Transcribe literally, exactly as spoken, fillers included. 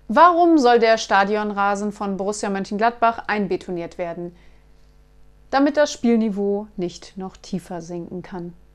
Warum soll der Stadionrasen von Borussia Mönchengladbach einbetoniert werden? Damit das Spielniveau nicht noch tiefer sinken kann.